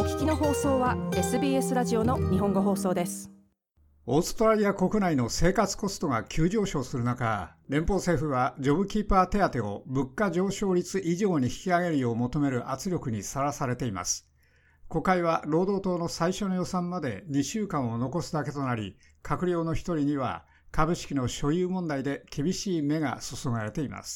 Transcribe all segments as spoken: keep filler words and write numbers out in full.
聞きの放送は エスビーエス ラジオの日本語放送です。 オーストラリア国内の生活コストが急上昇する中、連邦政府はジョブキーパー手当を物価上昇率以上に引き上げるよう求める圧力にさらされています。国会は労働党の最初の予算までにしゅうかんを残すだけとなり、閣僚の一人には株式の所有問題で厳しい目が注がれています。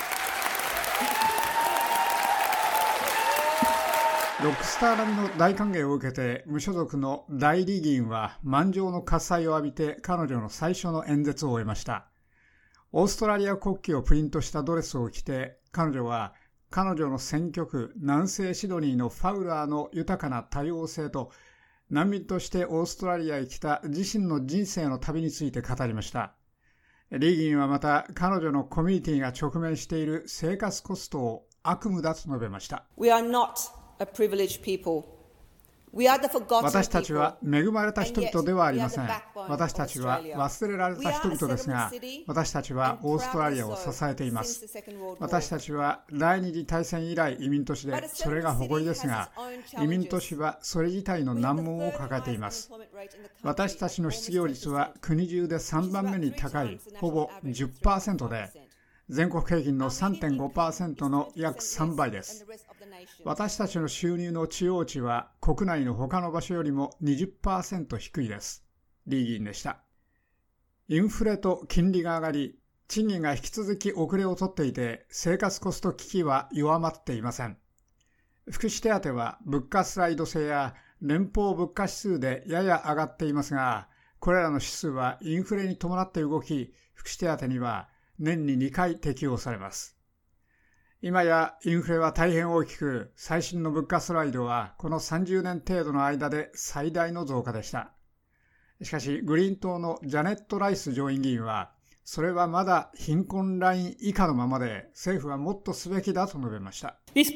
ロックスター並みの大歓迎を受けて無所属のダイリー議員は満場の喝采を浴びて彼女の最初の演説を終えました。オーストラリア国旗をプリントしたドレスを着て彼女は彼女の選挙区南西シドニーのファウラーの豊かな多様性と難民としてオーストラリアへ来た自身の人生の旅について語りました。リー議員はまた彼女のコミュニティが直面している生活コストを悪夢だと述べました。 We are not A privileged people. We are the forgotten people. 私たちは恵まれた人々ではありません。私たちは忘れられた人々ですが、私たちはオーストラリアを支えています。私たちは第二次大戦以来移民都市で、それが誇りですが、移民都市はそれ自体の難問を抱えています。私たちの失業率は国中でさんばんめに高い、ほぼ じゅっパーセント で、全国平均の さんてんごパーセント の約さんばいです。私たちの収入の中央値は国内の他の場所よりも にじゅっパーセント 低いです。リー議員でした。インフレと金利が上がり、賃金が引き続き遅れをとっていて、生活コスト危機は弱まっていません。福祉手当は物価スライド制や連邦物価指数でやや上がっていますが、これらの指数はインフレに伴って動き、福祉手当には年ににかい適用されます。今やインフレは大変大きく、最新の物価スライドはこのさんじゅうねん程度の間で最大の増加でした。しかし、グリーン党のジャネット・ライス上院議員は、それはまだ貧困ライン以下のままで、政府はもっとすべきだと述べました。この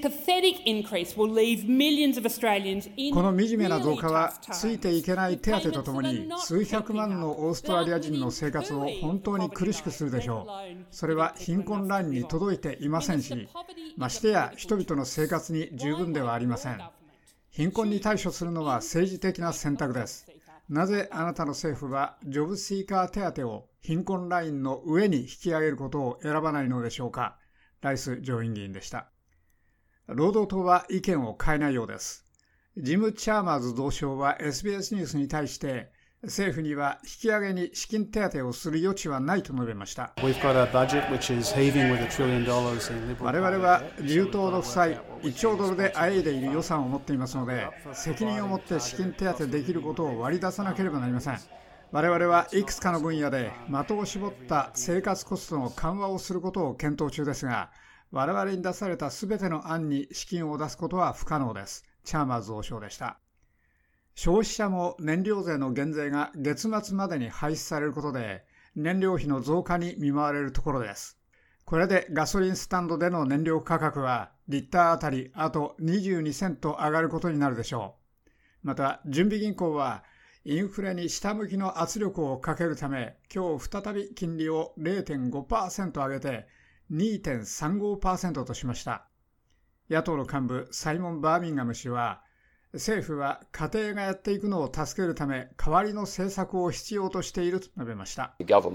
惨めな増加は、ついていけない手当とともに、数百万のオーストラリア人の生活を本当に苦しくするでしょう。それは貧困ラインに届いていませんし、ましてや人々の生活に十分ではありません。貧困に対処するのは政治的な選択です。なぜあなたの政府はジョブシーカー手当を貧困ラインの上に引き上げることを選ばないのでしょうか。ライス上院議員でした。労働党は意見を変えないようです。ジム・チャーマーズ同相は エスビーエス ニュースに対して、政府には引き上げに資金手当をする余地はないと述べました。我々は自由党の負債いっちょうドルであえいでいる予算を持っていますので、責任を持って資金手当できることを割り出さなければなりません。我々はいくつかの分野で的を絞った生活コストの緩和をすることを検討中ですが、我々に出されたすべての案に資金を出すことは不可能です。チャーマーズ同相でした。消費者も燃料税の減税が月末までに廃止されることで、燃料費の増加に見舞われるところです。これでガソリンスタンドでの燃料価格はリッターあたりあとにじゅうにセント上がることになるでしょう。また、準備銀行はインフレに下向きの圧力をかけるため、今日再び金利を れいてんごパーセント 上げて にてんさんごパーセント としました。野党の幹部サイモン・バーミンガム氏は、政府は家庭がやっていくのを助けるため代わりの政策を必要としていると述べました。政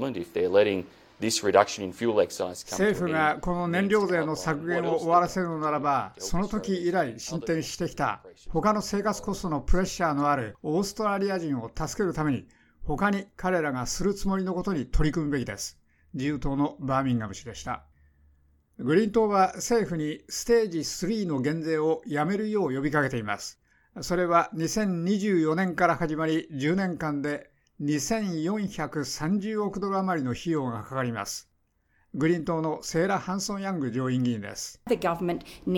府がこの燃料税の削減を終わらせるのならば、その時以来進展してきた他の生活コストのプレッシャーのあるオーストラリア人を助けるために、他に彼らがするつもりのことに取り組むべきです。自由党のバーミンガム氏でした。グリーン党は政府にステージスリーの減税をやめるよう呼びかけています。それはにせんにじゅうよねんから始まりじゅうねんかんでにせんよんひゃくさんじゅうおくドル余りの費用がかかります。グリーン党のセーラ・ハンソン・ヤング上院議員です。政府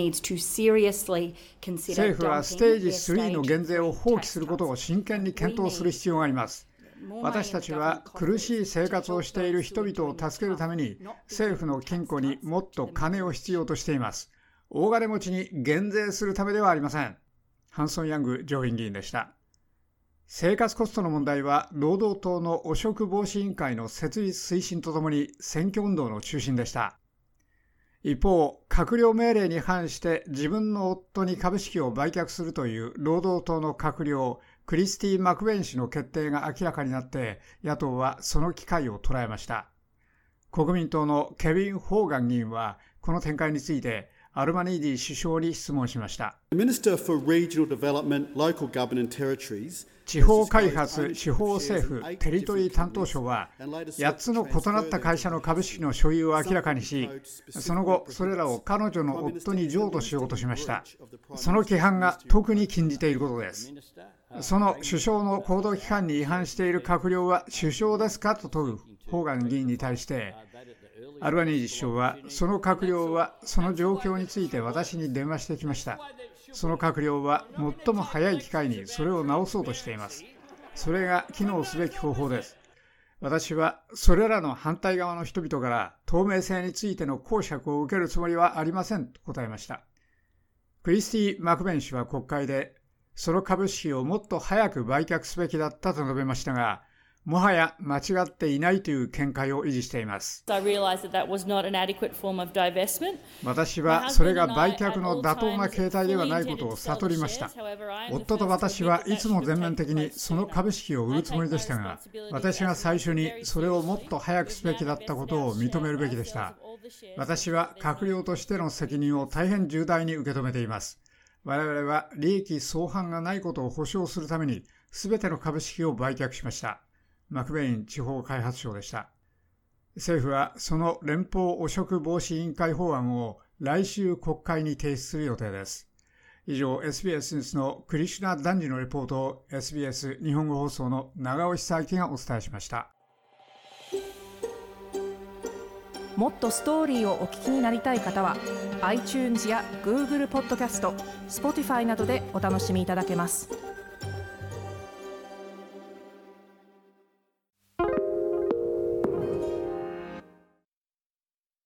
はステージスリーの減税を放棄することを真剣に検討する必要があります。私たちは苦しい生活をしている人々を助けるために政府の金庫にもっと金を必要としています。大金持ちに減税するためではありません。ハンソン・ヤング上院議員でした。生活コストの問題は労働党の汚職防止委員会の設立推進とともに選挙運動の中心でした。 一方、閣僚命令に反して自分の夫に株式を売却するという労働党の閣僚クリスティ・マクベイン氏の決定が明らかになって、野党はその機会を捉えました。国民党のケビン・ホーガン議員はこの展開についてアルバニーディ首相に質問しました。地方開発・地方政府・テリトリー担当省はやっつの異なった会社の株式の所有を明らかにし、その後それらを彼女の夫に譲渡しようとしました。その規範が特に禁じていることです。その首相の行動規範に違反している閣僚は首相ですかと問うホーガン議員に対して、アルバニージ首相は、その閣僚はその状況について私に電話してきました。その閣僚は最も早い機会にそれを直そうとしています。それが機能すべき方法です。私はそれらの反対側の人々から透明性についての講釈を受けるつもりはありませんと答えました。クリスティ・マクベン氏は国会で、その株式をもっと早く売却すべきだったと述べましたが、もはや間違っていないという見解を維持しています。私はそれが売却の妥当な形態ではないことを悟りました。夫と私はいつも全面的にその株式を売るつもりでしたが、私が最初にそれをもっと早くすべきだったことを認めるべきでした。私は閣僚としての責任を大変重大に受け止めています。我々は利益相反がないことを保証するために全ての株式を売却しました。マクベイン地方開発省でした。政府はその連邦汚職防止委員会法案を来週国会に提出する予定です。以上、エスビーエス ニュースのクリシュナ・ダンジのレポートを エスビーエス 日本語放送の長尾久明がお伝えしました。 もっとストーリーをお聞きになりたい方は iTunes や Google ポッドキャスト、Spotify などでお楽しみいただけます。